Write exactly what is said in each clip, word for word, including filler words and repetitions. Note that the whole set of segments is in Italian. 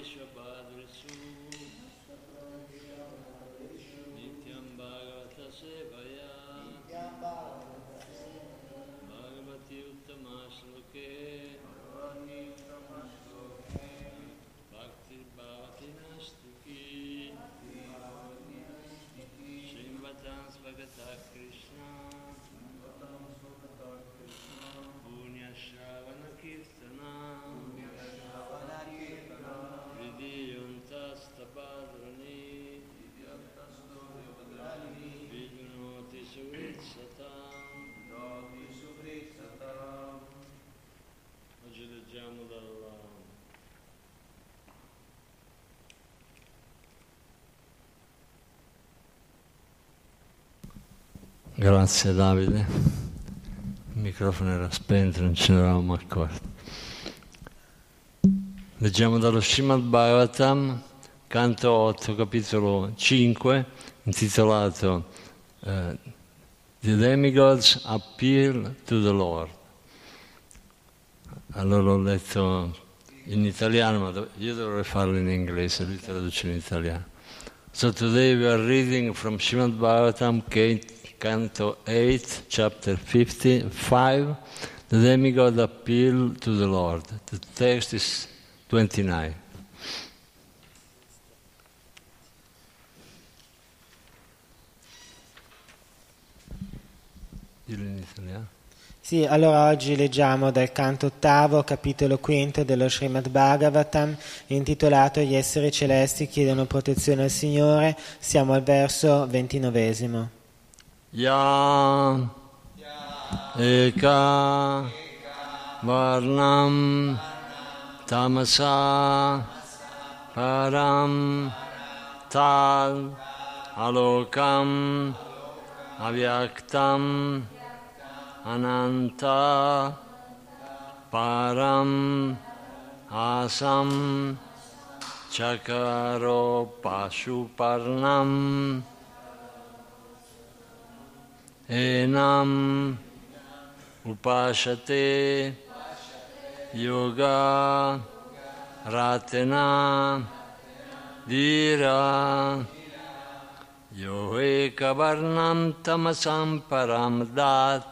Badrisu Nityam Bhagavata Sevaya Bhagavati Uttama Shloke Bhakti Bhavati Nastuki Srimvatam Svagata Krishna Punya Shravana Kirtana Vidiyuntastapadrani Vidunoti Suvritsatam. Oggi leggiamo dalla Grazie Davide, il microfono era spento, non ce ne eravamo accorti. Leggiamo dallo Srimad Bhagavatam, canto otto, capitolo cinque, intitolato uh, The Demigods Appeal to the Lord. Allora l'ho letto in italiano, ma io dovrei farlo in inglese, lui traduce in italiano. So today we are reading from Srimad Bhagavatam, Canto eight, chapter fifty-five, the demigod appeal to the Lord. The text is twenty-nine. Dillo in italiano. Sì, allora oggi leggiamo dal canto ottavo, capitolo quinto dello Srimad Bhagavatam, intitolato Gli esseri celesti chiedono protezione al Signore. Siamo al verso ventinovesimo. Ya eka varnam tamasa param tal alokam avyaktam ananta param asam chakaro pashuparnam enam upashate yoga ratena dira yo eka varnam tamasam param dat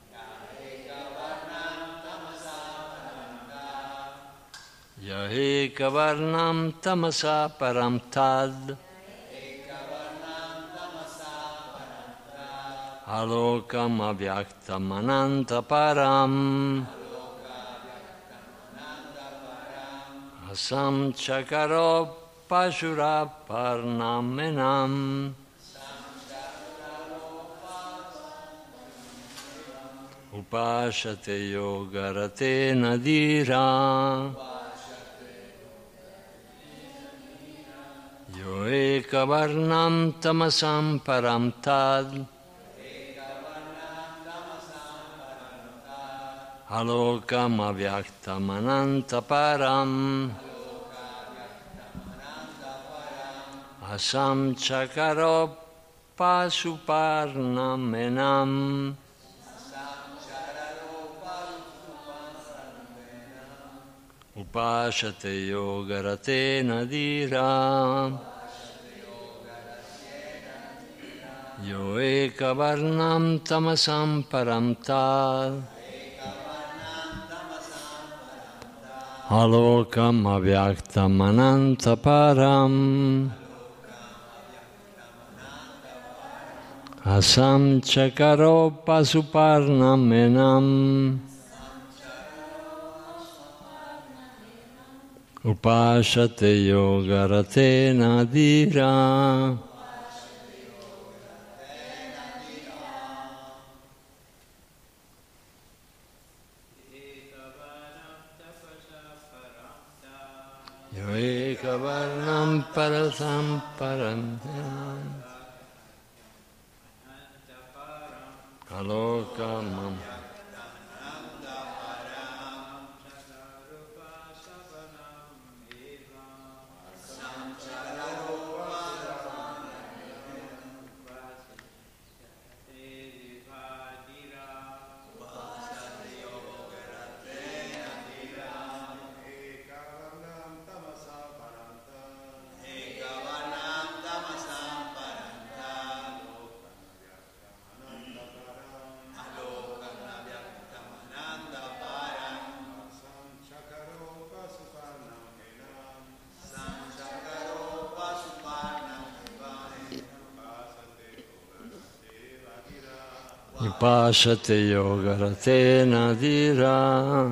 ya eka varnam tamasa param tad Alokam avyaktam ananta param Asam chakaro pashura parnam enam Upashate yogarate nadira Yo eka varnam tamasam param tad Alokam avyaktam ananta param Asam chakaro pasuparnam enam Upashate yogarate nadira Yo eka varnam tamasam param tad Alokam avyaktam ananta param Asam chakaro pasuparnam enam Upashate yogarate nadira Eka varnam parasam param alokam Upashate yoga ratena dira.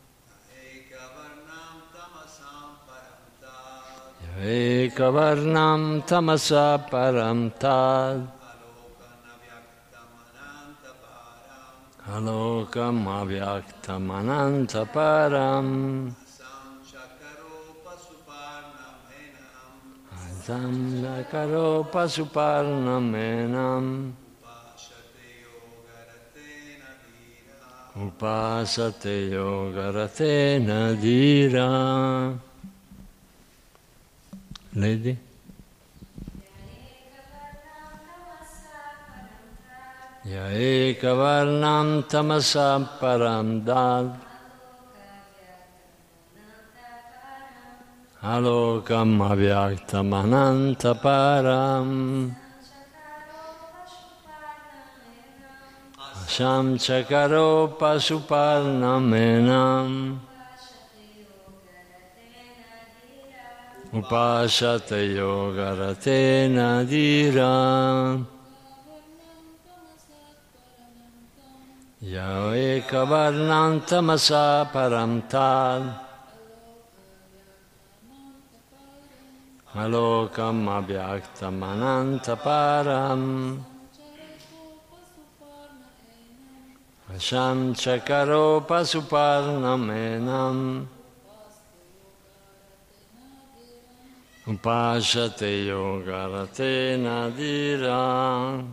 Ekavarnam tamasa param tad. Alokam avyaktam ananta param. Asam chakaro pasuparnamenam. Upasate yoga ratena dira. Lady? Ya ekavarnam tamasa param dad. Alokam avyaktam ananta param. Sham chakaro pasuparnamenam. Upashate yoga ratena dira. Ya ekavarnam tamasa param tad. Alokam avyaktam ananta param. Sham chakaro pasuparnamenam. Upashate yoga ratena dira.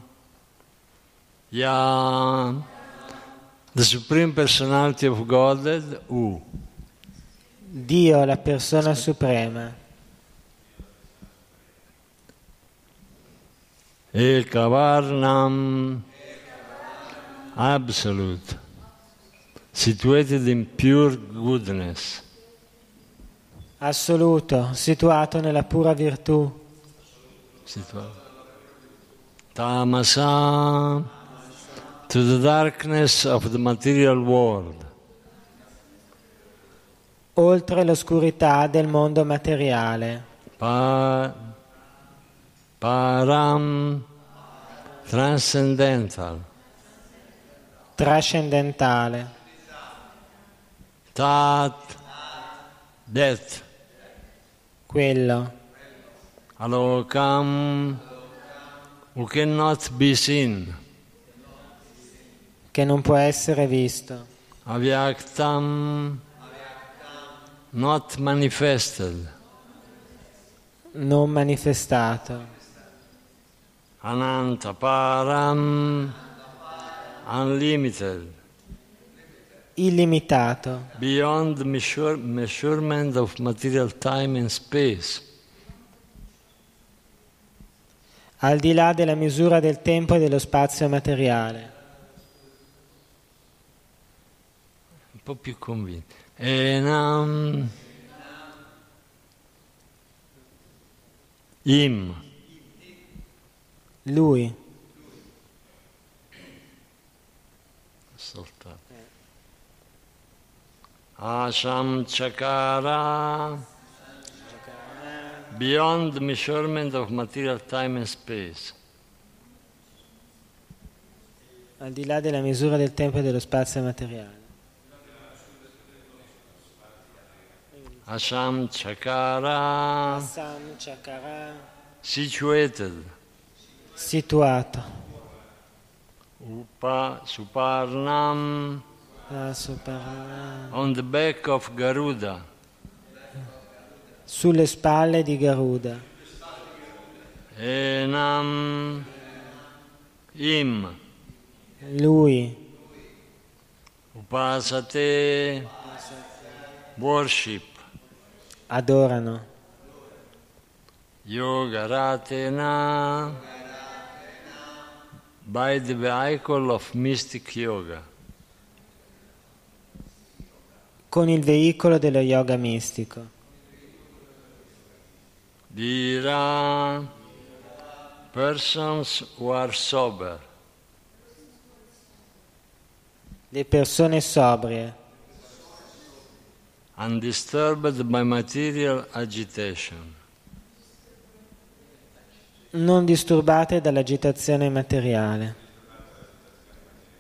Ya, the Supreme Personality of Godhead, U. Dio, la persona suprema. Ekavarnam, absolute, situated in pure goodness. Assoluto, situato nella pura virtù. Situato. Tamasa, to the darkness of the material world. Oltre l'oscurità del mondo materiale. Pa, param, transcendental. Trascendentale. Tat, death. Quello. Alokam, who cannot be seen. Che non può essere visto. Avyaktam, not manifested. Non manifestato. Ananta param, unlimited. Illimitato. Beyond measure, measurement of material time and space. Al di là della misura del tempo e dello spazio materiale. Un po' più convinto. Enam, im. Lui. Soltato. Asham chakara, beyond the measurement of material time and space. Al di là della misura del tempo e dello spazio materiale. Asham chakara, Assam chakara. situated. Situato. Upa suparnam, Supera. on the back of Garuda. Sulle spalle di Garuda. Enam, im. Lui. Upasate, worship. Adorano. Yoga ratena, by the vehicle of mystic yoga. Con il veicolo dello yoga mistico. Dira, persons who are sober. Le persone sobrie. Undisturbed by material agitation. Non disturbate dall'agitazione materiale.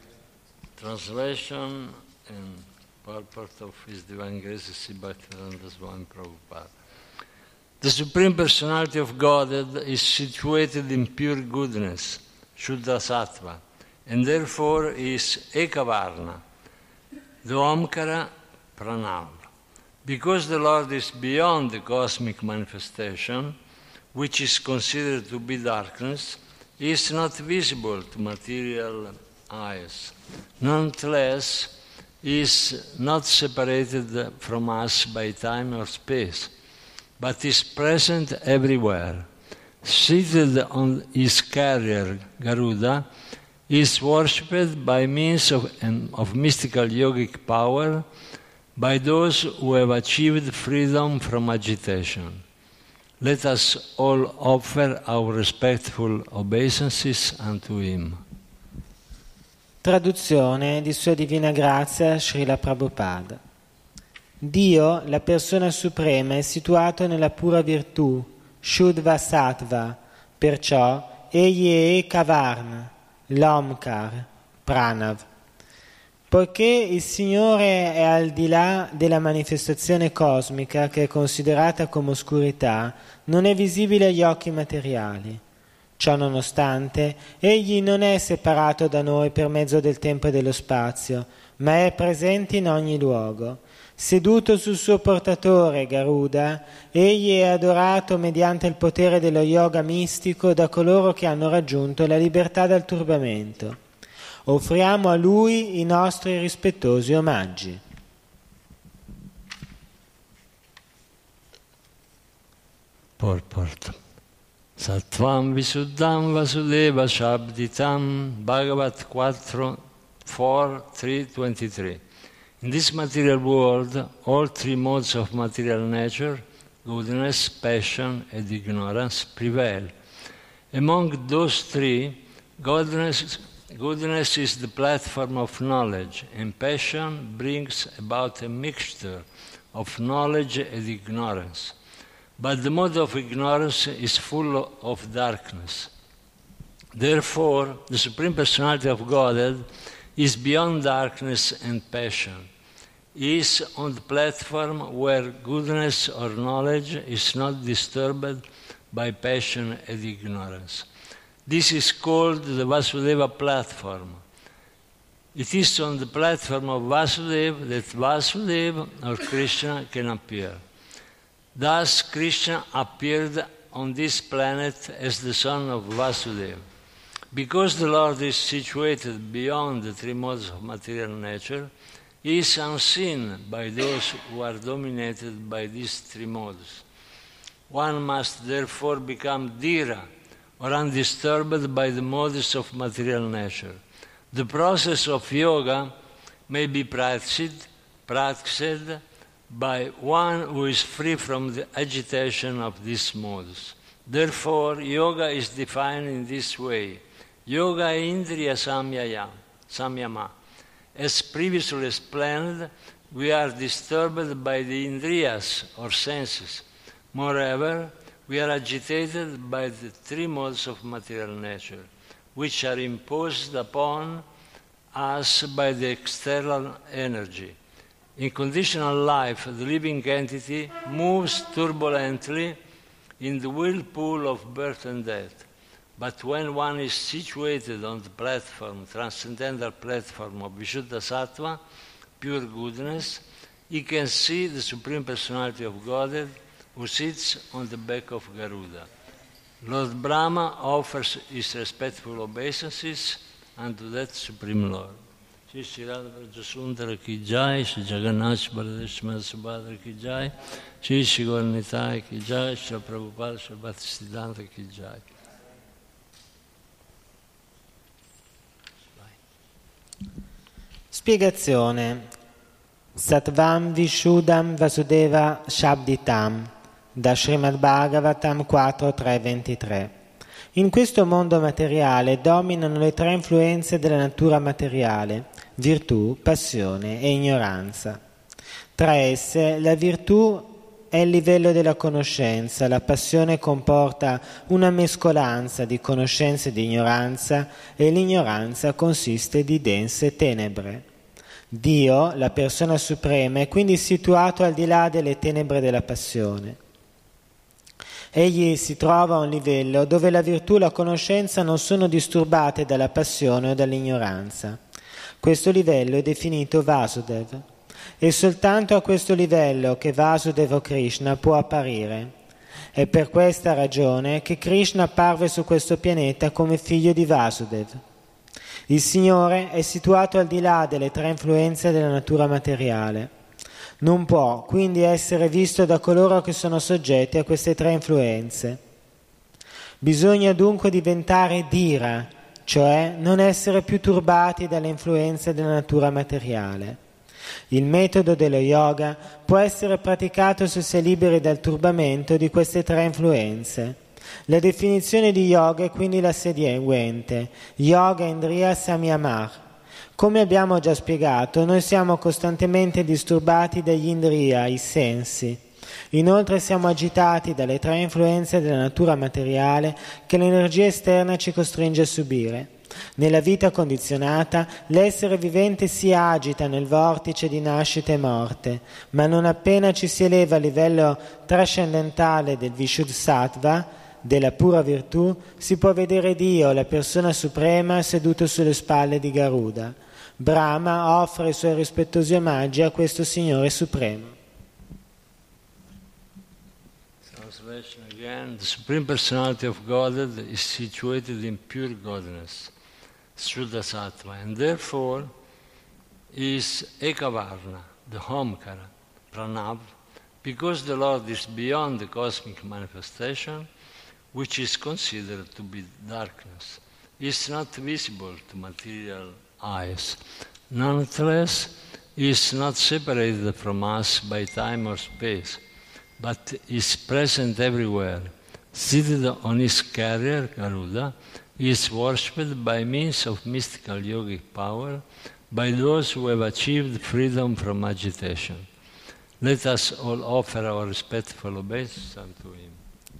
Translation and purport of His Divine Grace Sri Bhaktivedanta Swami Prabhupada. The Supreme Personality of Godhead is situated in pure goodness, Shuddha Sattva, and therefore is Ekavarna, the Omkara Pranav. Because the Lord is beyond the cosmic manifestation, which is considered to be darkness, He is not visible to material eyes. Nonetheless, He is not separated from us by time or space, but is present everywhere. Seated on His carrier, Garuda, He is worshipped by means of, of mystical yogic power by those who have achieved freedom from agitation. Let us all offer our respectful obeisances unto Him. Traduzione di Sua Divina Grazia Srila Prabhupada. Dio, la persona suprema, è situato nella pura virtù, Shuddha Sattva, perciò Egli è Ekavarna, l'Omkar, Pranav. Poiché il Signore è al di là della manifestazione cosmica che è considerata come oscurità, non è visibile agli occhi materiali. Ciò nonostante, Egli non è separato da noi per mezzo del tempo e dello spazio, ma è presente in ogni luogo. Seduto sul suo portatore, Garuda, Egli è adorato mediante il potere dello yoga mistico da coloro che hanno raggiunto la libertà dal turbamento. Offriamo a Lui i nostri rispettosi omaggi. Purport. Sattvam Visuddham Vasudeva Shabditam Bhagavat four, four, three, twenty-three. In this material world, all three modes of material nature, goodness, passion, and ignorance, prevail. Among those three, goodness, goodness is the platform of knowledge, and passion brings about a mixture of knowledge and ignorance. But the mode of ignorance is full of darkness. Therefore, the Supreme Personality of Godhead is beyond darkness and passion. He is on the platform where goodness or knowledge is not disturbed by passion and ignorance. This is called the Vasudeva platform. It is on the platform of Vasudeva that Vasudeva or Krishna can appear. Thus, Krishna appeared on this planet as the son of Vasudeva. Because the Lord is situated beyond the three modes of material nature, He is unseen by those who are dominated by these three modes. One must therefore become dhira, or undisturbed by the modes of material nature. The process of yoga may be practiced, practiced by one who is free from the agitation of these modes. Therefore, yoga is defined in this way. Yoga Indriya Samyaya, Samyama. As previously explained, we are disturbed by the Indriyas, or senses. Moreover, we are agitated by the three modes of material nature, which are imposed upon us by the external energy. In conditional life, the living entity moves turbulently in the whirlpool of birth and death. But when one is situated on the platform, transcendental platform of Vishuddha Sattva, pure goodness, he can see the Supreme Personality of Godhead who sits on the back of Garuda. Lord Brahma offers his respectful obeisances unto that Supreme Lord. Shri Shri Radha Vrajasundara ki jai, Shri Jagannath Baladeshmar Subhadra ki jai, Shri Shri Gauranitai ki jai, Shri Prabhupada Shri Bhaktisiddhanta ki jai. Spiegazione. Sattvam Vishuddham Vasudeva Shabditam da Srimad Bhagavatam quattro, tre, ventitré. In questo mondo materiale dominano le tre influenze della natura materiale, virtù, passione e ignoranza. Tra esse la virtù è il livello della conoscenza. La passione comporta una mescolanza di conoscenza e di ignoranza, e l'ignoranza consiste di dense tenebre. Dio, la persona suprema, è quindi situato al di là delle tenebre della passione. Egli si trova a un livello dove la virtù e la conoscenza non sono disturbate dalla passione o dall'ignoranza. Questo livello è definito Vasudev. È soltanto a questo livello che Vasudeva o Krishna può apparire. È per questa ragione che Krishna apparve su questo pianeta come figlio di Vasudev. Il Signore è situato al di là delle tre influenze della natura materiale. Non può quindi essere visto da coloro che sono soggetti a queste tre influenze. Bisogna dunque diventare dhira, cioè non essere più turbati dalle influenze della natura materiale. Il metodo dello yoga può essere praticato se si è liberi dal turbamento di queste tre influenze. La definizione di yoga è quindi la seguente: Yoga Indriya Samyamah. Come abbiamo già spiegato, noi siamo costantemente disturbati dagli indriya, i sensi. Inoltre siamo agitati dalle tre influenze della natura materiale che l'energia esterna ci costringe a subire. Nella vita condizionata, l'essere vivente si agita nel vortice di nascita e morte, ma non appena ci si eleva a livello trascendentale del Vishuddha-sattva, della pura virtù, si può vedere Dio, la persona suprema, seduto sulle spalle di Garuda. Brahma offre i suoi rispettosi omaggi a questo Signore Supremo. Translation again. The Supreme Personality of Godhead is situated in pure godliness, Shuddha Sattva, and therefore is Ekavarna, the Homkara, Pranav, because the Lord is beyond the cosmic manifestation, which is considered to be darkness. Is not visible to material eyes. Nonetheless, is not separated from us by time or space, but is present everywhere. Seated on his carrier, Garuda, he is worshipped by means of mystical yogic power by those who have achieved freedom from agitation. Let us all offer our respectful obeisance unto him.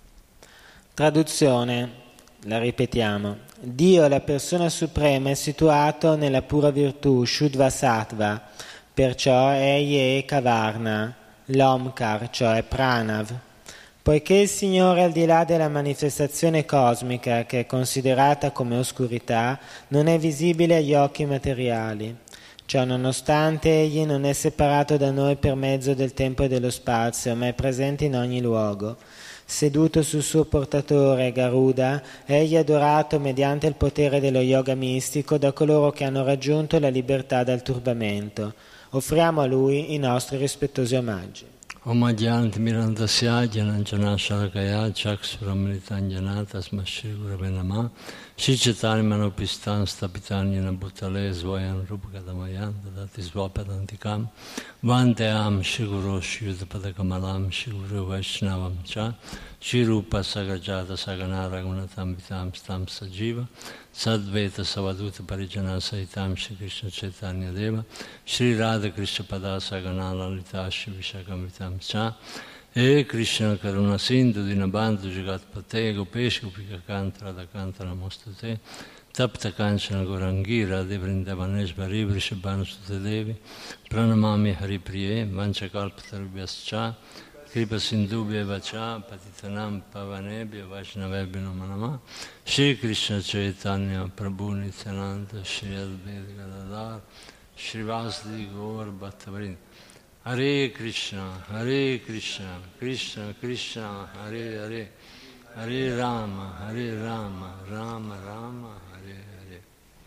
Traduzione, la ripetiamo. Dio, la persona suprema, è situato nella pura virtù, Shuddha Sattva, perciò egli è Kavarna, l'Omkar, cioè Pranav. Poiché il Signore, al di là della manifestazione cosmica, che è considerata come oscurità, non è visibile agli occhi materiali. Ciò nonostante, egli non è separato da noi per mezzo del tempo e dello spazio, ma è presente in ogni luogo. Seduto sul suo portatore, Garuda, egli è adorato mediante il potere dello yoga mistico da coloro che hanno raggiunto la libertà dal turbamento. Offriamo a lui i nostri rispettosi omaggi. Omagyanti Mirandasya Jananjana Shalakaya Chaksuramritanjana Tasma Shri Gurave Namah Shri Chaitanya Manopistan Stapitanyana Bhutale Svayam Rupakadamayan Dadati Svapadantikam Vanteam Shri Guru Shri Yudapadakamalam Shri Guru Vaishnavam Cha Shri Rupa Sagrajata Saganara Gunatam Vitam Stam Sajiva Sadveta Savaduta Parijana Saitam Shri Krishna Chaitanya Deva Shri Radha Krishna Pada Sagana Lalita Shri Vishakam Vitam Cha E Krishna Karuna Sindhu Dinabandhu Jagat Pate Gopesh Gopika Kanta Radha Kanta Namostate Tapta Kanchana Gorangira Devrindavanesvari Vrishabhanu Sutedevi Pranamami Haripriye Vanchakalpatarubhyascha Kripa Sindhubhya Vacha Patitanam Pavanebhya Vaishnavebhya Namo Namah Shri Krishna Chaitanya Prabhu Nityananda Shri Advaita Gadadhar Shri Vasudeva Gaur Bhattavrinda Hare Krishna Hare Krishna Krishna Krishna Hare Hare Hare Rama Hare Rama Rama Rama Hare Hare.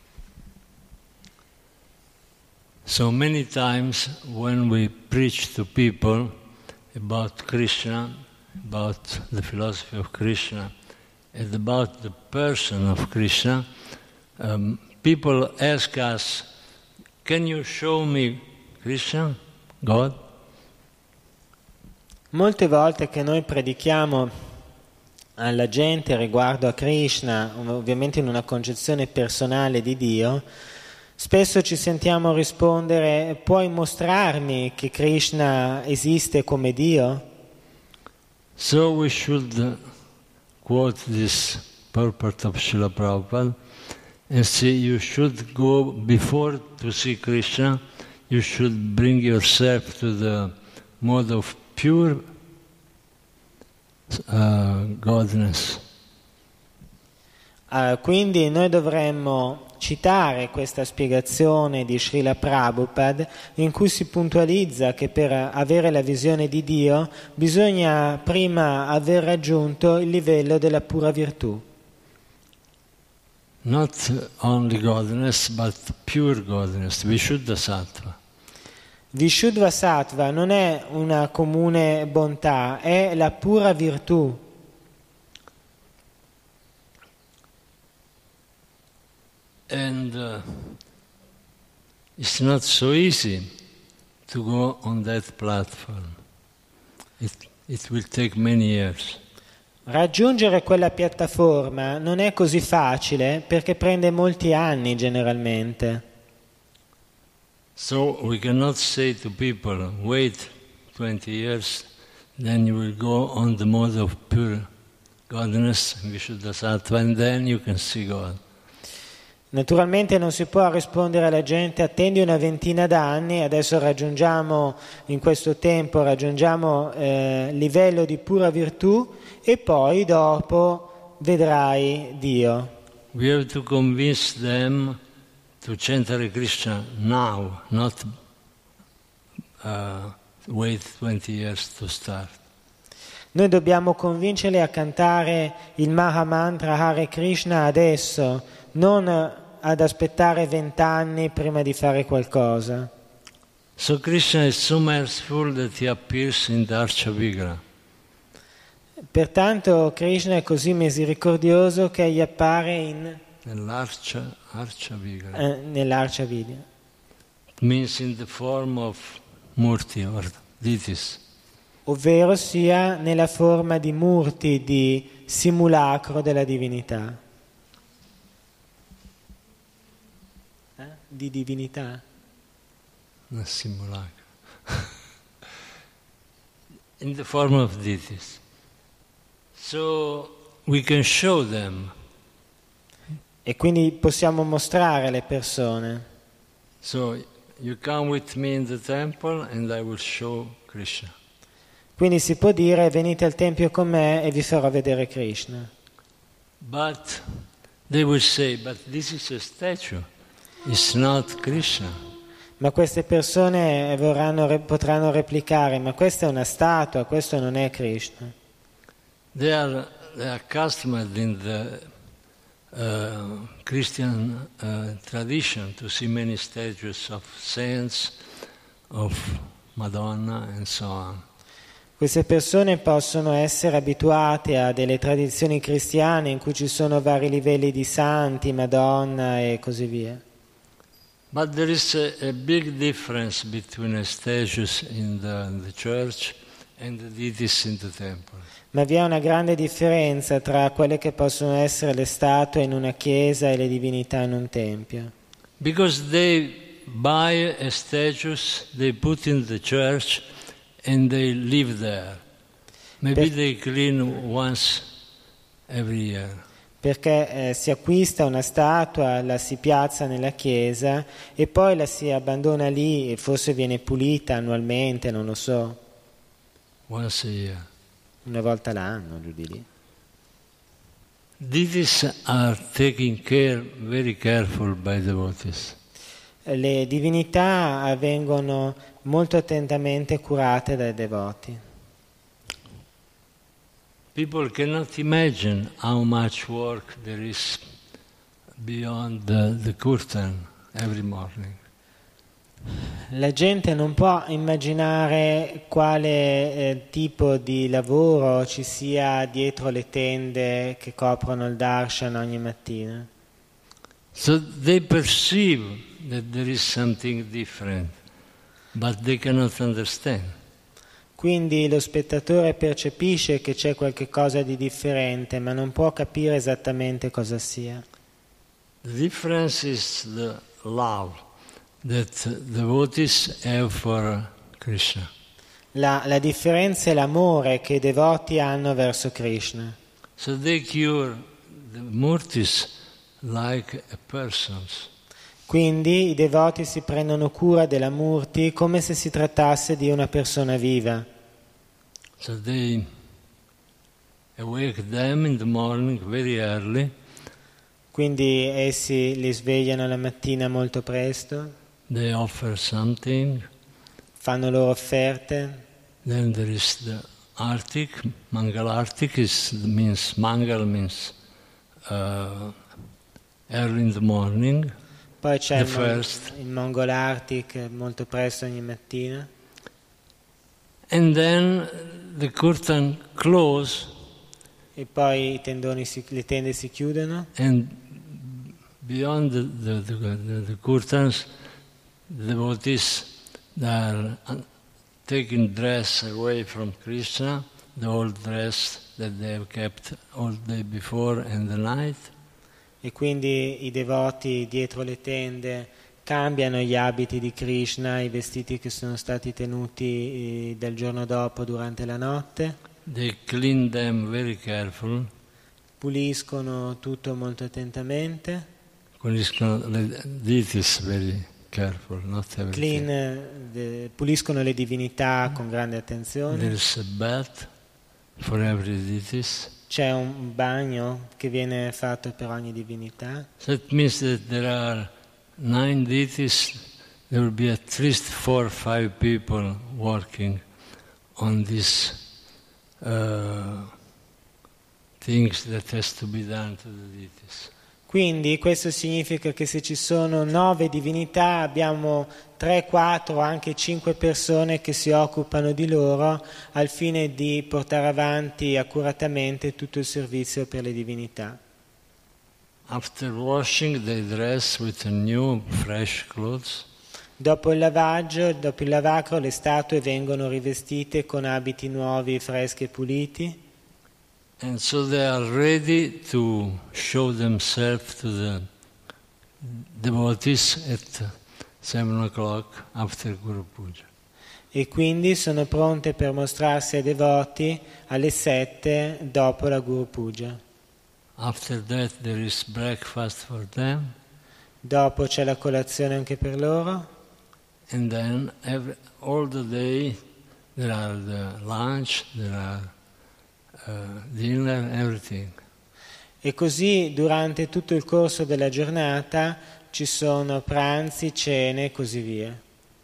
So many times when we preach to people about Krishna, about the philosophy of Krishna, and about the person of Krishna, um, people ask us, can you show me Krishna, God? Molte volte che noi predichiamo alla gente riguardo a Krishna, ovviamente in una concezione personale di Dio, spesso ci sentiamo rispondere: puoi mostrarmi che Krishna esiste come Dio? So we should uh, quote this purport of Srila Prabhupada and say you should go before to see Krishna, you should bring yourself to the mode of pure uh, godness. Uh, quindi noi dovremmo citare questa spiegazione di Srila Prabhupada in cui si puntualizza che per avere la visione di Dio bisogna prima aver raggiunto il livello della pura virtù. Not only godness, but pure godness, Vishuddha Sattva. Vishuddha Sattva non è una comune bontà, è la pura virtù. And uh, it's not so easy to go on that platform. It, it will take many years. Raggiungere quella piattaforma non è così facile perché prende molti anni generalmente. So we cannot say to people, wait twenty years, then you will go on the mode of pure godness, Vishuddha Sattva, and then you can see God. Naturalmente non si può rispondere alla gente attendi una ventina d'anni, adesso raggiungiamo in questo tempo raggiungiamo eh, livello di pura virtù e poi dopo vedrai Dio. We have to convince them to chant Hare Krishna now, not uh, wait twenty years to start. Noi dobbiamo convincerli a cantare il Maha Mantra Hare Krishna adesso, non ad aspettare vent'anni prima di fare qualcosa. So Krishna is so merciful that he appears in the Archa Vigraha. Pertanto Krishna è così misericordioso che gli appare in, Nell'Archa Archa Vigraha. eh, nell'Archa Vigraha. It means in the form of Murti or deities. Ovvero sia nella forma di murti, di simulacro della divinità. Eh? Di divinità? Una simulacro. In the form of deities. So we can show them. E quindi possiamo mostrare alle persone. So you come with me in the temple and I will show Krishna. Quindi si può dire venite al tempio con me e vi farò vedere Krishna. But they will say, but this is a statue, it's not Krishna. Ma queste persone vorranno, potranno replicare, ma questa è una statua, questo non è Krishna. They are, they are accustomed in the uh, Christian uh, tradition to see many statues of saints, of Madonna and so on. Queste persone possono essere abituate a delle tradizioni cristiane in cui ci sono vari livelli di santi, Madonna e così via. But there is a, a big difference between the statues in the, in the church and the deities in the temple. Ma vi è una grande differenza tra quelle che possono essere le statue in una chiesa e le divinità in un tempio. Because they buy a statues, they put in the church and they live there. Maybe Per- they clean once every year. Perché eh, si acquista una statua, la si piazza nella chiesa e poi la si abbandona lì e forse viene pulita annualmente, non lo so, Once a year. una volta l'anno, giù di lì. Deities are taken care, very careful by devotees. Le divinità vengono molto attentamente curate dai devoti. People cannot imagine how much work there is beyond the, the curtain every morning. La gente non può immaginare quale eh, tipo di lavoro ci sia dietro le tende che coprono il darshan ogni mattina. So they perceive that there is something different, but they cannot understand. Quindi lo spettatore percepisce che c'è qualche cosa di differente, ma non può capire esattamente cosa sia. The difference is the love that devotees have for Krishna. La, la differenza è l'amore che i devoti hanno verso Krishna. So they cure the murtis like a persons. Quindi i devoti si prendono cura della Murti come se si trattasse di una persona viva. So they awake them in the morning very early. Quindi essi li svegliano la mattina molto presto, They offer something. fanno loro offerte. Then there is the Artik. Mangal Artik is, means, Mangal means uh, early in the morning. Poi c'è The il, mon- first. il Mongol Arctic molto presto ogni mattina. And then the curtain close, E poi i tendoni si, le tende si chiudono and beyond the, the, the, the, the curtains, the devotees are taking dress away from Krishna, the old dress that they have kept all day before and the night. e quindi i devoti dietro le tende cambiano gli abiti di Krishna, i vestiti che sono stati tenuti eh, del giorno dopo durante la notte, They clean them very careful, puliscono tutto molto attentamente, puliscono le deities very careful, not everything. clean, eh, de- puliscono le divinità con grande There attenzione. is a bath for every deities. C'è un bagno che viene fatto per ogni divinità. So it means that there are nine deities, there will be at least four or five people working on these uh, things that has to be done to the deities. Quindi questo significa che se ci sono nove divinità abbiamo tre, quattro, anche cinque persone che si occupano di loro al fine di portare avanti accuratamente tutto il servizio per le divinità. After washing, they dress with a new, fresh clothes. Dopo il lavaggio, dopo il lavacro, le statue vengono rivestite con abiti nuovi, freschi e puliti. And so they are ready to show themselves to the devotees at seven o'clock after Guru Puja. E quindi sono pronte per mostrarsi ai devoti alle sette dopo la Guru Puja. After that there is breakfast for them, Dopo c'è la colazione anche per loro. and then every, all the day there are the lunch, there are uh, dinner, everything. E così durante tutto il corso della giornata ci sono pranzi, cene e così via.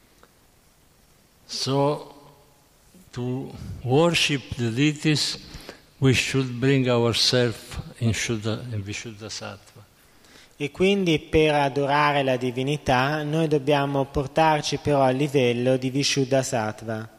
So to worship the deities we should bring ourselves in Shuddha, in Vishuddha Sattva. E quindi per adorare la divinità noi dobbiamo portarci però al livello di Vishuddha Sattva.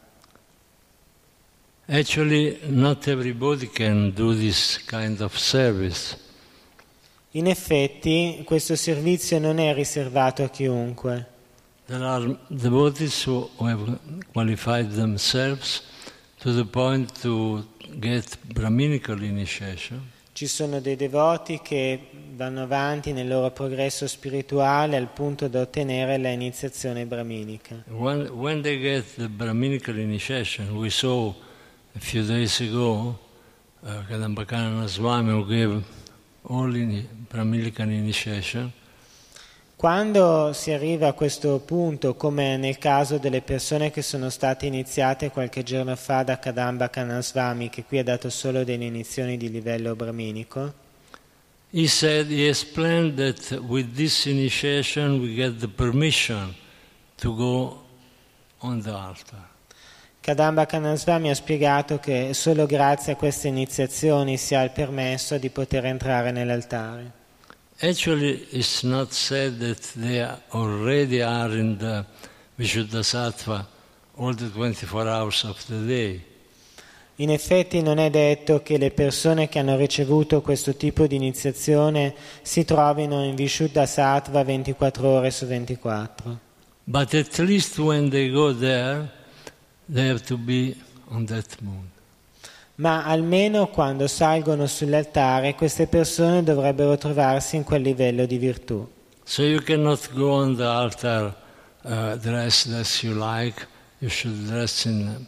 Actually, not everybody can do this kind of service. In effetti questo servizio non è riservato a chiunque. There are devotees who have qualified themselves to the point to get Brahminical initiation. Ci sono dei devoti che vanno avanti nel loro progresso spirituale al punto da ottenere la iniziazione brahminica. When, when they get the Brahminical initiation, we saw a few days ago uh, Kadambakanana Swami who gave all in Brahminical initiation. Quando si arriva a questo punto, come nel caso delle persone che sono state iniziate qualche giorno fa da Kadamba Kanaswami, che qui ha dato solo delle inizioni di livello brahminico, He said, he explained that with this initiation we get the permission to go on the altar. Kadamba Kanaswami ha spiegato che solo grazie a queste iniziazioni si ha il permesso di poter entrare nell'altare. Actually, it's not said that they are already are in the Vishuddhasattva all the twenty-four hours of the day. In effetti non è detto che le persone che hanno ricevuto questo tipo di iniziazione si trovino in Vishuddha Sattva ventiquattro ore su ventiquattro. But at least when they go there, they have to be on that mood. Ma almeno quando salgono sull'altare queste persone dovrebbero trovarsi in quel livello di virtù. So you cannot go on the altar uh, dressed as you like. You should dress in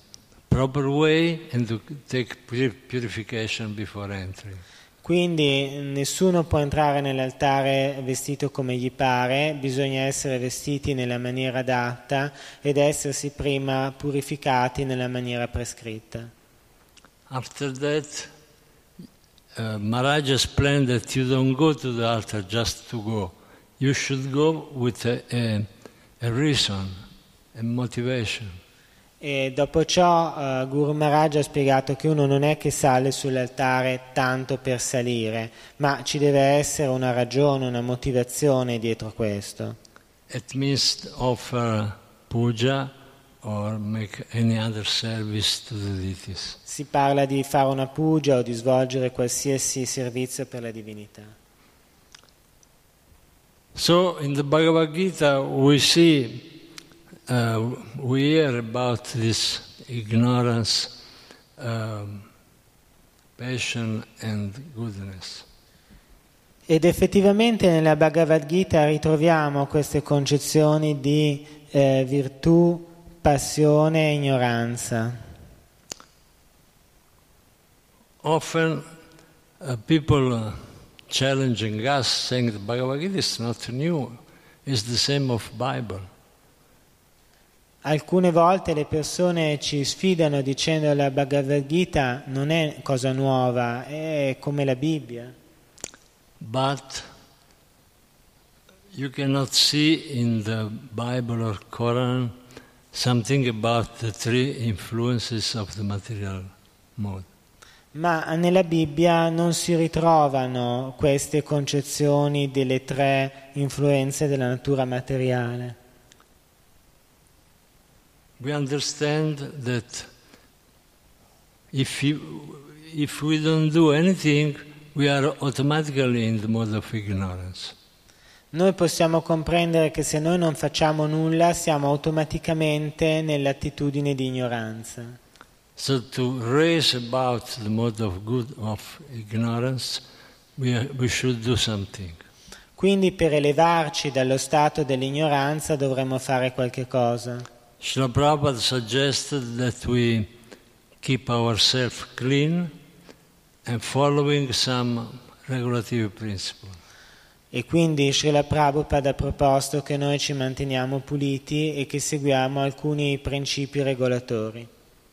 proper way and to take purification before entering. Quindi nessuno può entrare nell'altare vestito come gli pare, bisogna essere vestiti nella maniera adatta ed essersi prima purificati nella maniera prescritta. After that, uh, Maharaj explained that you don't go to the altar just to go. You should go with a, a, a reason, a motivation. E dopo ciò uh, Guru Maharaj ha spiegato che uno non è che sale sull'altare tanto per salire, ma ci deve essere una ragione, una motivazione dietro a questo. It means to offer puja or make any other service to the deities. Si parla di fare una puja o di svolgere qualsiasi servizio per la divinità. So in the Bhagavad Gita we see Uh, we hear about this ignorance, um, passion and goodness. Ed effettivamente nella Bhagavad Gita ritroviamo queste concezioni di eh, virtù, passione e ignoranza. Often uh, people uh, challenging us, saying the Bhagavad Gita is not new, it's the same of Bible. Alcune volte le persone ci sfidano dicendo che la Bhagavad Gita non è cosa nuova, è come la Bibbia. But you cannot see in the Bible or Quran something about the three influences of the material mode. Ma nella Bibbia non si ritrovano queste concezioni delle tre influenze della natura materiale. We understand that if, you, if we don't do anything, we are automatically in the mode of ignorance. Noi possiamo comprendere che se noi non facciamo nulla siamo automaticamente nell'attitudine di ignoranza. So to raise about the mode of good of ignorance, we, are, we should do something. Quindi per elevarci dallo stato dell'ignoranza dovremmo fare qualche cosa. Srila Prabhupada suggested that we keep ourselves clean and following some regulative principle. E quindi Srila Prabhupada ha proposto che noi ci manteniamo puliti e che seguiamo alcuni principi regolatori.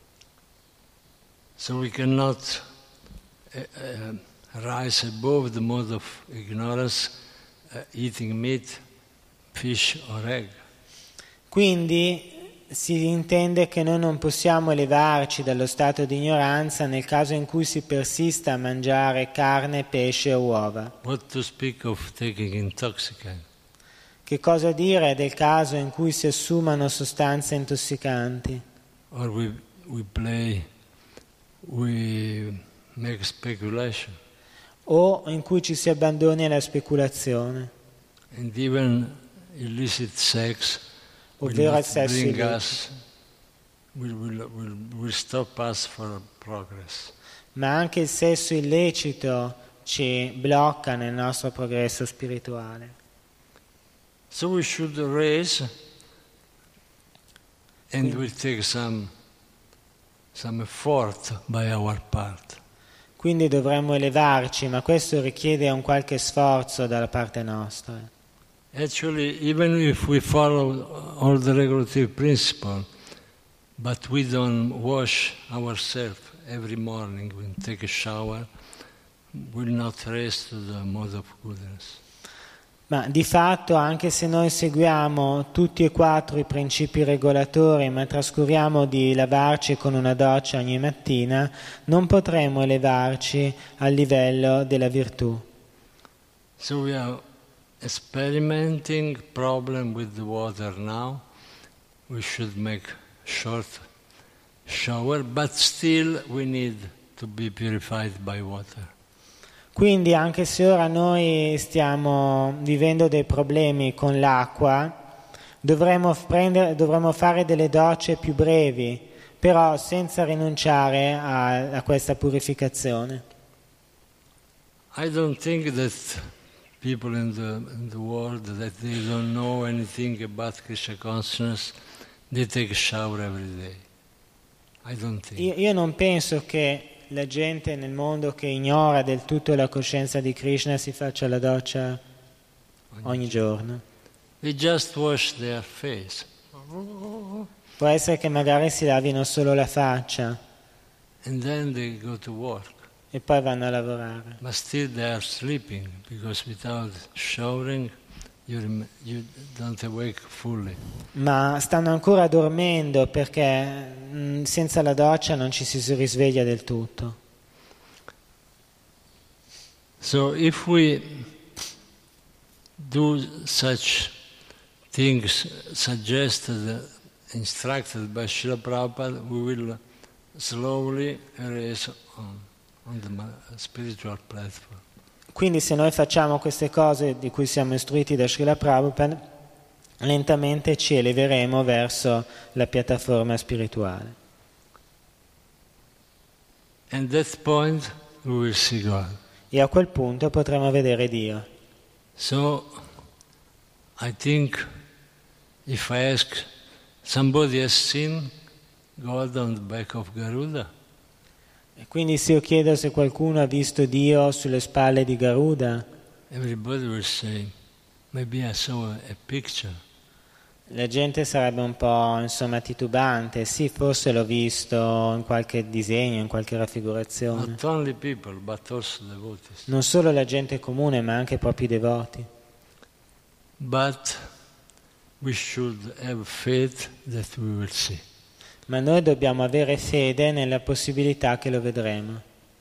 So we cannot uh, uh, rise above the mode of ignorance, uh, eating meat, fish or egg. Quindi si intende che noi non possiamo elevarci dallo stato di ignoranza nel caso in cui si persista a mangiare carne, pesce o uova. What to speak of taking intoxicant? Che cosa dire del caso in cui si assumano sostanze intossicanti? Or we, we play, we make speculation. O in cui ci si abbandoni alla speculazione. And even illicit sex Ovvero al sesso bring illecito. us, will, will, will, will stop us for progress. Ma anche il sesso illecito ci blocca nel nostro progresso spirituale. So we should raise and we'll take some, some effort by our part. Quindi dovremmo elevarci, ma questo richiede un qualche sforzo dalla parte nostra. Actually, even if we follow all the regulative principles, but we don't wash ourselves every morning, we take a shower, will not raise to the mode of goodness. Ma di fatto, anche se noi seguiamo tutti e quattro i principi regolatori, ma trascuriamo di lavarci con una doccia ogni mattina, non potremo elevarci al livello della virtù. So we are experimenting problem with the water now. We should make short shower, but still we need to be purified by water. Quindi anche se ora noi stiamo vivendo dei problemi con l'acqua, dovremmo, prendere, dovremmo fare delle docce più brevi, però senza rinunciare a, a questa purificazione. I don't think that people in the, in the world that they don't know anything about Krishna consciousness, they take a shower every day. I don't think. Io, io non penso che la gente nel mondo che ignora del tutto la coscienza di Krishna si faccia la doccia ogni giorno. They just wash their face. Può essere che magari si lavino solo la faccia And then they go to work. e poi vanno a lavorare. But still they are sleeping, because without showering, you, rem- you don't awake fully. Ma stanno ancora dormendo perché mh, senza la doccia non ci si risveglia del tutto. So if we do such things suggested, instructed by Srila Prabhupada, we will slowly raise on, on the ma- spiritual platform. Quindi se noi facciamo queste cose di cui siamo istruiti da Srila Prabhupada, lentamente ci eleveremo verso la piattaforma spirituale. And at that point we will see God. E a quel punto potremo vedere Dio. So I think if I ask, somebody has seen God on the back of Garuda? E quindi se io chiedo se qualcuno ha visto Dio sulle spalle di Garuda, Everybody will say, maybe I saw a, a picture. la gente sarebbe un po' insomma titubante. Sì, forse l'ho visto in qualche disegno, in qualche raffigurazione. Not only people, but also devotees. Non solo la gente comune, ma anche i propri devoti. But we should have faith that we will see. Ma noi dobbiamo avere fede nella possibilità che lo vedremo.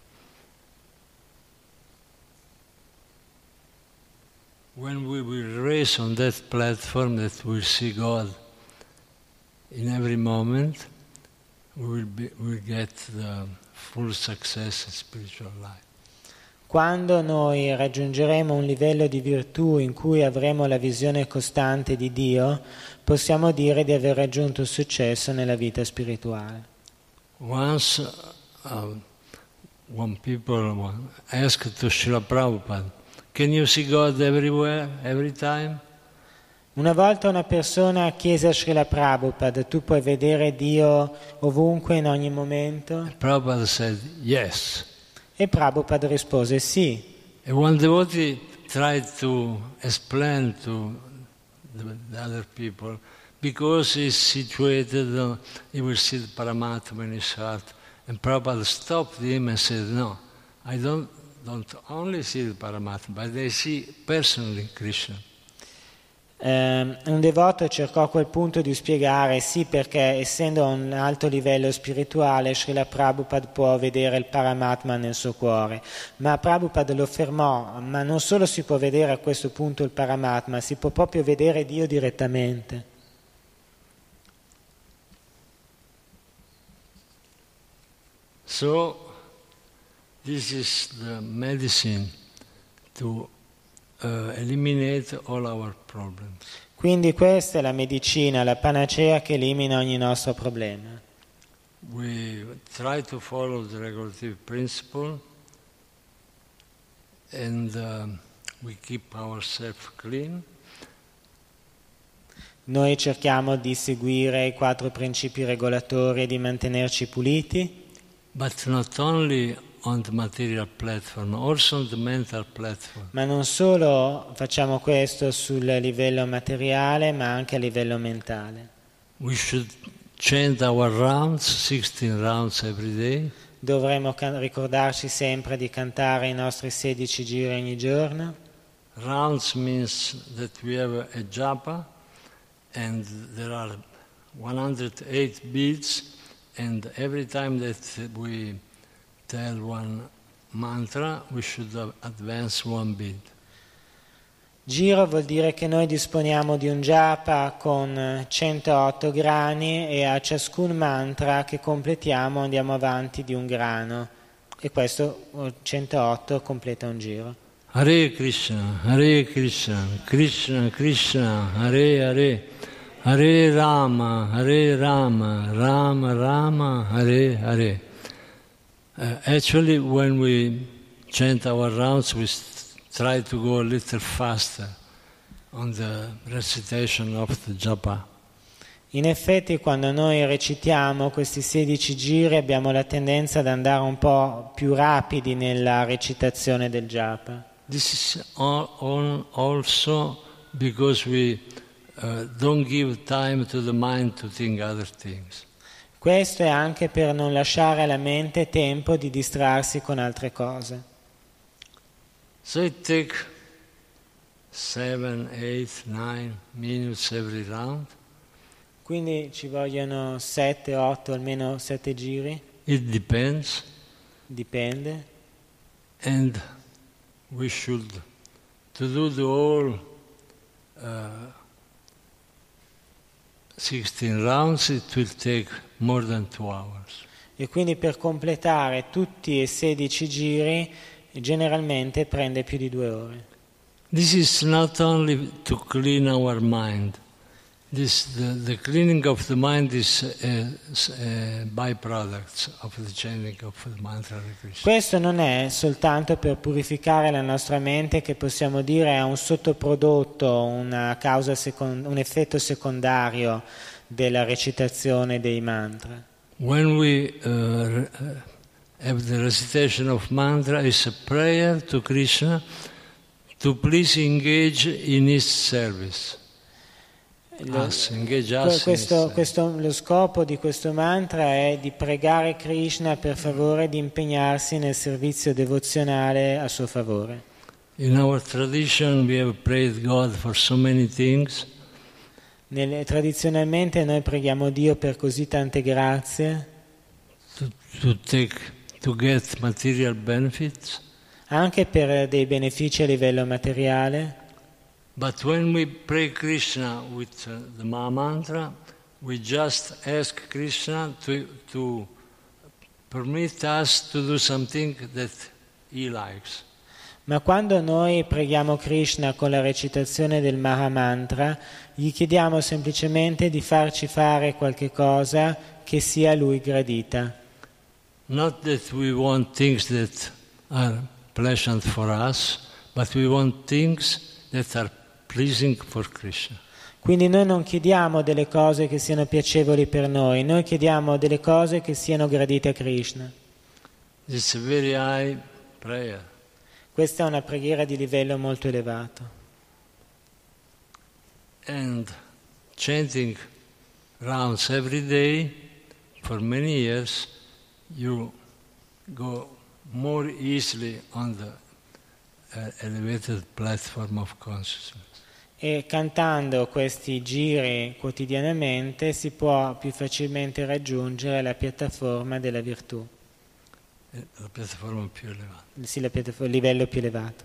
When we will race on that platform that we'll see God in every moment, we will be, we'll get the full success in spiritual life. Quando noi raggiungeremo un livello di virtù in cui avremo la visione costante di Dio, possiamo dire di aver raggiunto il successo nella vita spirituale. Once, uh, one people asked to Srila Prabhupada, can you see God everywhere, every time? Una volta una persona chiese a Srila Prabhupada, tu puoi vedere Dio ovunque, in ogni momento? Prabhupada said, yes. E Prabhupada rispose sì. And one devotee tried to explain to the, the other people, because he's situated, uh, he will see the Paramatma in his heart. And Prabhupada stopped him and said, no, I don't, don't only see the Paramatma, but I see personally Krishna. Um, un devoto cercò a quel punto di spiegare sì, perché essendo a un alto livello spirituale Srila Prabhupada può vedere il Paramatma nel suo cuore, ma Prabhupada lo fermò, ma non solo si può vedere a questo punto il Paramatma, si può proprio vedere Dio direttamente. So this is the medicine to Uh, eliminate all our problems. Quindi questa è la medicina, la panacea che elimina ogni nostro problema. We try to follow the regulative principle and uh, we keep ourselves clean. Noi cerchiamo di seguire i quattro principi regolatori e di mantenerci puliti. But not only on the material platform, also on the mental platform. Ma non solo facciamo questo sul livello materiale, ma anche a livello mentale. We should chant our rounds, sixteen rounds every day. Dovremmo can- ricordarci sempre di cantare i nostri sedici giri ogni giorno. Rounds means that we have a japa and there are one hundred eight beads, and every time that we tell one mantra, we should advance one bead. Giro vuol dire che noi disponiamo di un japa con centootto grani e a ciascun mantra che completiamo andiamo avanti di un grano. E questo centootto completa un giro. Hare Krishna, Hare Krishna, Krishna Krishna, Hare Hare, Hare Rama, Hare Rama, Rama Rama, Hare Hare. Uh, actually, when we chant our rounds, we st- try to go a little faster on the recitation of the japa. In effetti, quando noi recitiamo questi sedici giri abbiamo la tendenza ad andare un po' più rapidi nella recitazione del japa. This is all, all also because we uh, don't give time to the mind to think other things. Questo è anche per non lasciare alla mente tempo di distrarsi con altre cose. So it takes seven, eight, nine minutes every round. Quindi ci vogliono sette, otto, almeno sette giri, It depends, dipende. and we should to do the whole uh, sixteen rounds. It will take more than two hours. E quindi per completare tutti e sedici giri generalmente prende più di due ore. This is not only to clean our mind. This, the, the cleaning of the mind is a, a byproduct of the chanting of the mantra Hare Krishna. Questo non è soltanto per purificare la nostra mente, che possiamo dire è un sottoprodotto, una causa second- un effetto secondario della recitazione dei mantra. When we uh, have the recitation of mantra, is a prayer to Krishna to please engage in his service. Lo, Us, engage us questo, in his questo, lo scopo di questo mantra è di pregare Krishna per favore di impegnarsi nel servizio devozionale a suo favore. In our tradition we have prayed God for so many things. Nelle, tradizionalmente noi preghiamo Dio per così tante grazie, To, to take to get material benefits, anche per dei benefici a livello materiale. but when we pray Krishna with uh, the Maha Mantra, we just ask Krishna to to permit us to do something that he likes. Ma quando noi preghiamo Krishna con la recitazione del Maha Mantra, gli chiediamo semplicemente di farci fare qualche cosa che sia a lui gradita. Not that we want things that are pleasant for us, but we want things that are pleasing for Krishna. Quindi noi non chiediamo delle cose che siano piacevoli per noi, noi chiediamo delle cose che siano gradite a Krishna. It's a very high prayer. Questa è una preghiera di livello molto elevato. And chanting rounds every day for many years, you go more easily on the uh, elevated platform of consciousness. E cantando questi giri quotidianamente si può più facilmente raggiungere la piattaforma della virtù, La piattaforma più elevata. sì, la piattaforma, il livello più elevato.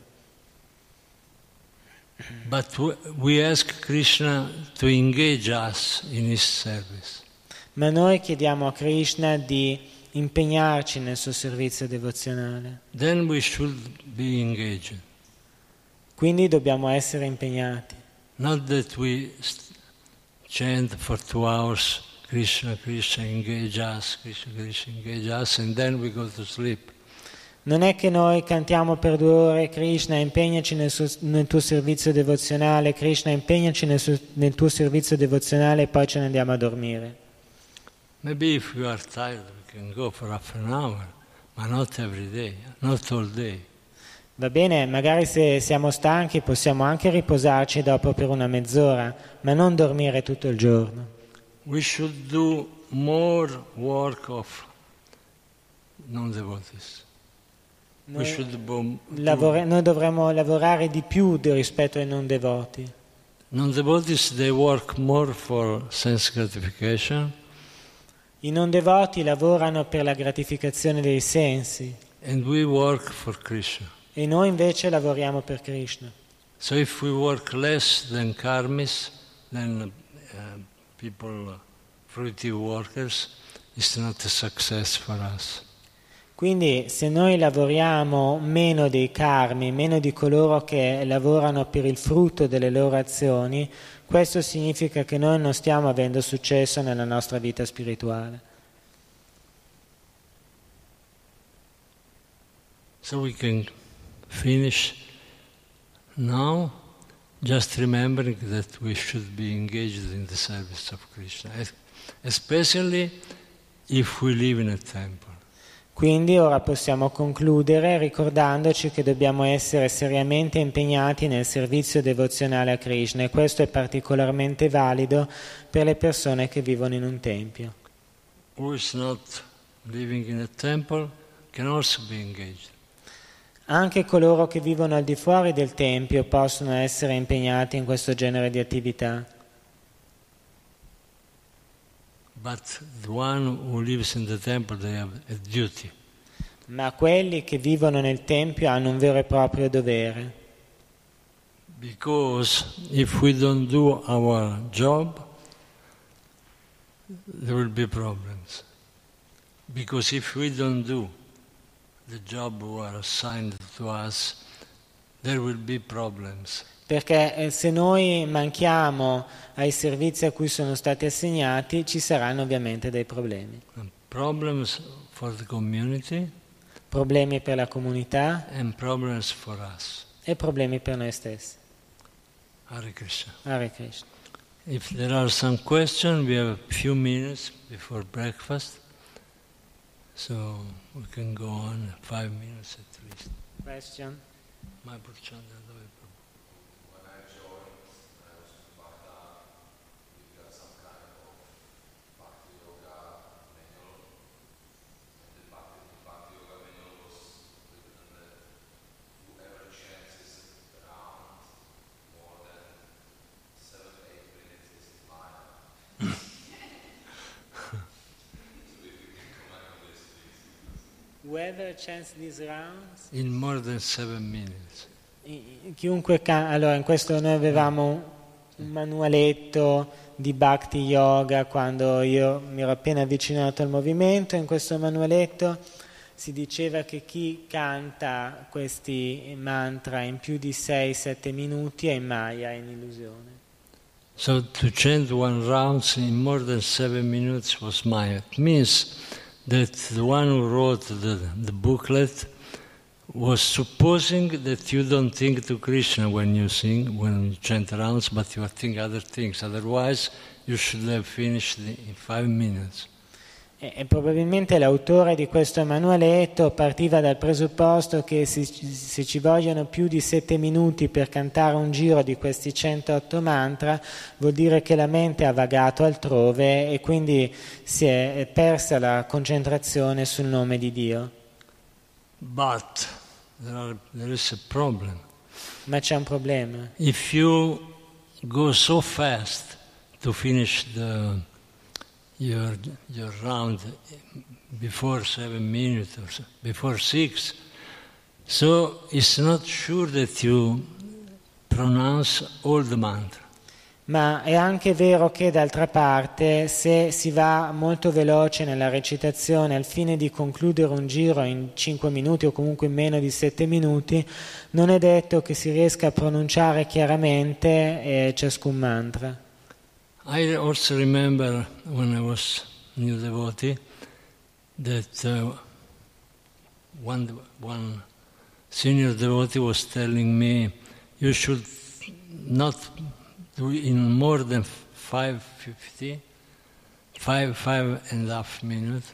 But w- we ask Krishna to engage us in his service. Ma noi chiediamo a Krishna di impegnarci nel suo servizio devozionale. Then we should be engaged. Quindi dobbiamo essere impegnati. Not that we st- chant for two hours, Krishna, Krishna, engage us, Krishna, Krishna, engage us, and then we go to sleep. Non è che noi cantiamo per due ore Krishna, impegnaci nel, suo, nel tuo servizio devozionale, Krishna, impegnaci nel, suo, nel tuo servizio devozionale e poi ce ne andiamo a dormire. Maybe if you are tired, we can go for half an hour, but not every day, not all day. Va bene, magari se siamo stanchi possiamo anche riposarci dopo per una mezz'ora, ma non dormire tutto il giorno. We should do more work of non-devotees. We Noi, should bo- lavora- noi dovremmo lavorare di più di- rispetto ai non devoti. Non-devotees, they work more for sense gratification, I non devoti lavorano per la gratificazione dei sensi and we work for Krishna. e noi invece lavoriamo per Krishna. So if we work less than karmis, than uh, people, uh, fruitive workers, it's not a success for us. Quindi se noi lavoriamo meno dei karmi, meno di coloro che lavorano per il frutto delle loro azioni, questo significa che noi non stiamo avendo successo nella nostra vita spirituale. So we can finish now, just remembering that we should be engaged in the service of Krishna, especially if we live in a temple. Quindi ora possiamo concludere ricordandoci che dobbiamo essere seriamente impegnati nel servizio devozionale a Krishna, e questo è particolarmente valido per le persone che vivono in un tempio. Who is not living in a temple can also be engaged. Anche coloro che vivono al di fuori del tempio possono essere impegnati in questo genere di attività. But the one who lives in the temple, they have a duty. Ma quelli che vivono nel tempio hanno un vero e proprio dovere. Because if we don't do our job, there will be problems. Because if we don't do the job we are assigned to us, there will be problems. Perché se noi manchiamo ai servizi a cui sono stati assegnati, ci saranno ovviamente dei problemi. And problems for the community, Problemi per la comunità and problems for us. e problemi per noi stessi. Hare Krishna. Hare Krishna. If there are some questions, we have a few minutes before breakfast, so we can go on five minutes at least. Question? My Purchanda, dove è? When I joined, I was in Baghdad, we got some kind of Bhakti Yoga manual. And the Bhakti, Bhakti Yoga manual was written that whoever chances around more than seven, eight minutes is Maya. So if you can comment on this, please. Whoever chants these rounds, In more than seven minutes. chiunque can- allora in questo noi avevamo un manualetto di Bhakti Yoga quando io mi ero appena avvicinato al movimento. In questo manualetto si diceva che chi canta questi mantra in più di sei sette minuti è in Maya, è in illusione. So to chant one round in more than seven minutes was Maya. It means that the one who wrote the, the booklet was supposing that you don't think to Krishna when you sing, when you chant rounds, but you are thinking other things. Otherwise, you should have finished in five minutes. E, e probabilmente l'autore di questo manualetto partiva dal presupposto che se, se ci vogliono più di sette minuti per cantare un giro di questi centootto mantra, vuol dire che la mente ha vagato altrove e quindi si è persa la concentrazione sul nome di Dio. But there, are, there is a problem. Ma c'è un problema. If you go so fast to finish the, your, your round before seven minutes or so, before six, so it's not sure that you pronounce all the mantra. Ma è anche vero che d'altra parte, se si va molto veloce nella recitazione al fine di concludere un giro in cinque minuti o comunque in meno di sette minuti, non è detto che si riesca a pronunciare chiaramente eh, ciascun mantra. I also remember when I was new devotee that uh, one, one senior devotee was telling me, you should not do in more than five fifty, five five and a half minutes,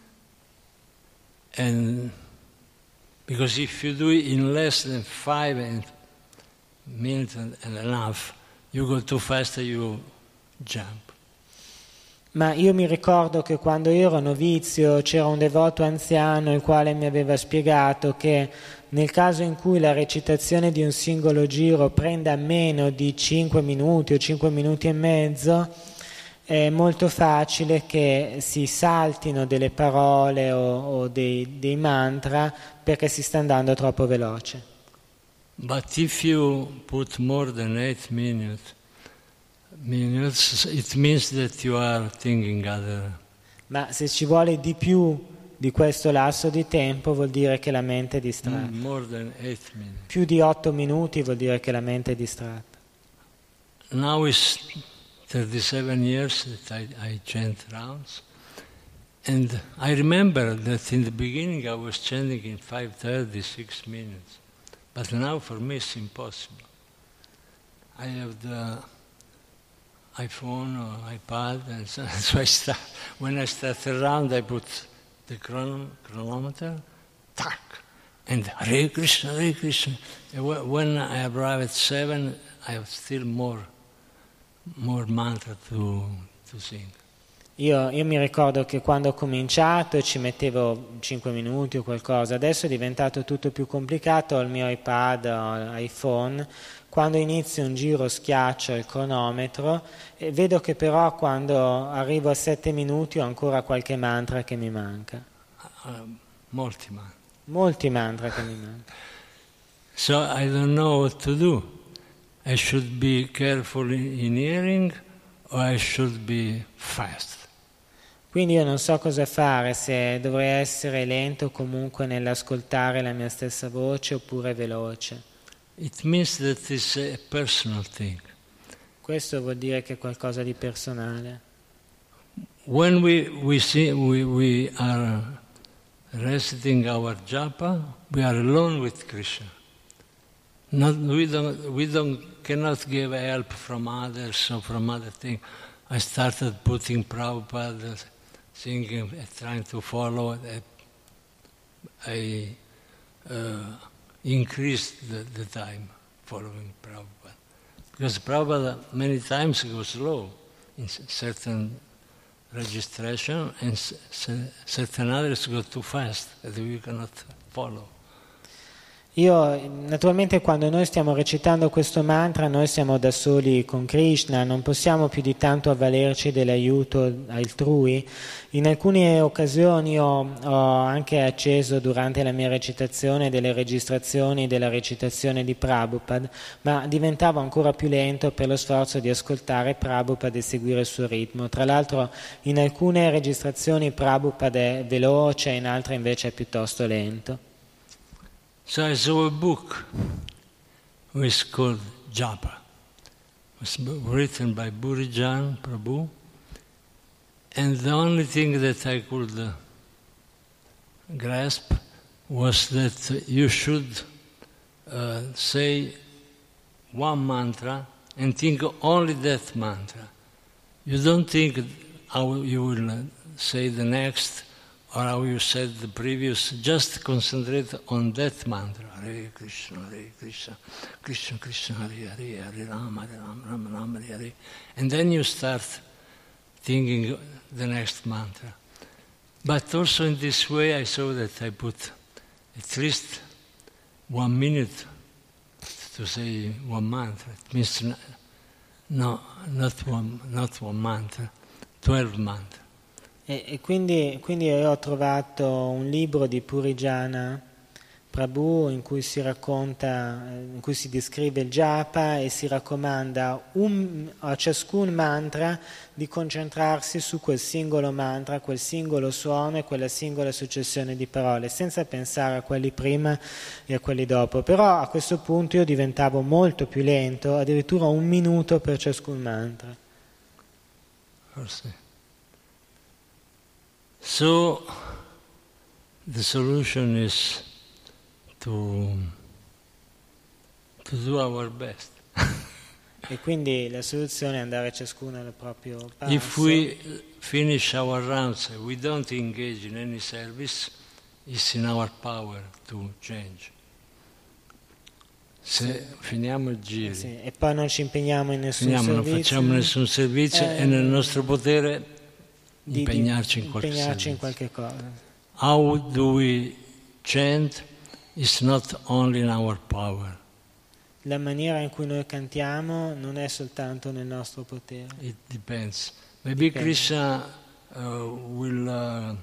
and because if you do it in less than five and minutes and, and a half, you go too fast and you jump. Ma io mi ricordo che quando io ero novizio c'era un devoto anziano il quale mi aveva spiegato che nel caso in cui la recitazione di un singolo giro prenda meno di cinque minuti o cinque minuti e mezzo, è molto facile che si saltino delle parole o, o dei, dei mantra perché si sta andando troppo veloce. But if you put more than eight minutes, minutes, it means that you are thinking other. Ma se ci vuole di più di questo lasso di tempo vuol dire che la mente è distratta. Mm, more than eight minutes. Più di otto minuti vuol dire che la mente è distratta. Now it's thirty-seven years that I, I chant rounds, and I remember that in the beginning I was chanting in five thirty, six minutes, but now for me it's impossible. I have the iPhone or iPad, and so, so I start, when I start around, I put the chron- chronometer, tack, and Hare Krishna, Hare Krishna. And wh- when I arrive at seven, I have still more, more mantra to, to sing. Io, io mi ricordo che quando ho cominciato ci mettevo cinque minuti o qualcosa, adesso è diventato tutto più complicato, ho il mio iPad, ho l'iPhone, quando inizio un giro schiaccio il cronometro e vedo che però quando arrivo a sette minuti ho ancora qualche mantra che mi manca. Uh, molti mantra. Molti mantra che mi mancano. So I don't know what to do. I should be careful in hearing or I should be fast. Quindi io non so cosa fare, se dovrei essere lento comunque nell'ascoltare la mia stessa voce oppure veloce. It means that it's a personal thing. Questo vuol dire che è qualcosa di personale. When we, we, see, we, we are reciting our japa, we are alone with Krishna. Not, we don't, we don't, cannot give help from others or from other things. I started putting Prabhupada singing, trying to follow. I uh, increased the, the time following Prabhupada. Because Prabhupada many times goes slow in certain registration and certain others go too fast that we cannot follow. Io, naturalmente, quando noi stiamo recitando questo mantra, noi siamo da soli con Krishna, non possiamo più di tanto avvalerci dell'aiuto altrui. In alcune occasioni ho, ho anche acceso durante la mia recitazione delle registrazioni della recitazione di Prabhupada, ma diventavo ancora più lento per lo sforzo di ascoltare Prabhupada e seguire il suo ritmo. Tra l'altro in alcune registrazioni Prabhupada è veloce, in altre invece è piuttosto lento. So I saw a book which is called Japa. It was written by Burijan Prabhu, and the only thing that I could uh, grasp was that you should uh, say one mantra and think only that mantra. You don't think how you will uh, say the next or how you said the previous, just concentrate on that mantra. Hare Krishna, Hare Krishna, Krishna Krishna, Hare Hare, Hare Rama, Hare Rama, Rama Rama, Hare Hare. And then you start thinking the next mantra. But also in this way I saw that I put at least one minute to say one mantra. It means no, not one, not one mantra, twelve mantra. E, e quindi, quindi io ho trovato un libro di Purijana Prabhu in cui si racconta, in cui si descrive il japa e si raccomanda un, a ciascun mantra di concentrarsi su quel singolo mantra, quel singolo suono e quella singola successione di parole, senza pensare a quelli prima e a quelli dopo. Però a questo punto io diventavo molto più lento, addirittura un minuto per ciascun mantra. Forse. So, the solution is to, to do our best. E quindi la soluzione è andare ciascuno al proprio passo. If we finish our rounds, we don't engage in any service, it's in our power to change. Se sì. finiamo il giro sì. e poi non ci impegniamo in nessun finiamo, servizio, non facciamo nessun servizio, eh, è nel nostro potere di, impegnarci di, in qualche, impegnarci in qualche cosa. How do we chant is not only in our power. La maniera in cui noi cantiamo non è soltanto nel nostro potere. It depends. Maybe Dipende. Krishna uh, will uh,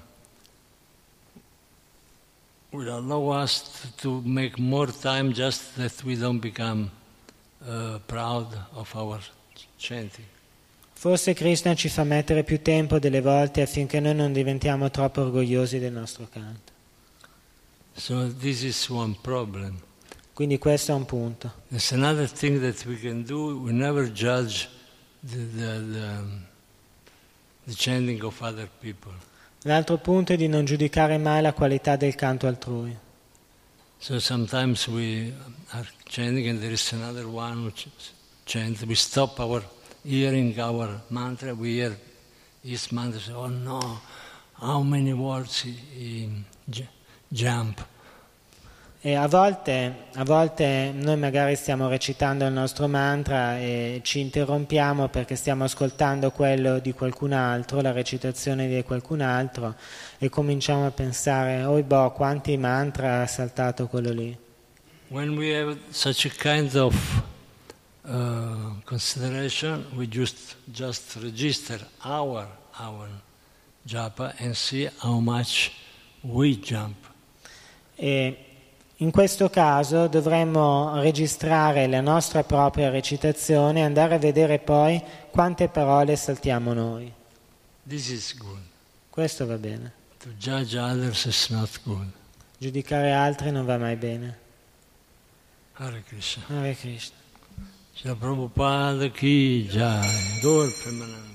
will allow us to make more time, just that we don't become uh, proud of our chanting. Forse Krishna ci fa mettere più tempo delle volte affinché noi non diventiamo troppo orgogliosi del nostro canto. So this is one problem. Quindi questo è un punto. There's another thing that we can do. We never judge the, the, the, the chanting of other people. L'altro punto è di non giudicare mai la qualità del canto altrui. So sometimes we are chanting and there is another one who ch- chant, we stop our hearing our mantra, we hear his mantra, say, oh no, how many words he, he j- jump. E a volte, a volte noi magari stiamo recitando il nostro mantra e ci interrompiamo perché stiamo ascoltando quello di qualcun altro, la recitazione di qualcun altro, e cominciamo a pensare, oh boh, quanti mantra ha saltato quello lì. When we have such a kind of uh, consideration, we just just register our our japa and see how much we jump. E in questo caso dovremmo registrare la nostra propria recitazione e andare a vedere poi quante parole saltiamo noi. This is good. Questo va bene. To judge others is not good. Giudicare altri non va mai bene. Hare Krishna. Hare Krishna. Srila Prabhupada ki jai. Gaur Premanand.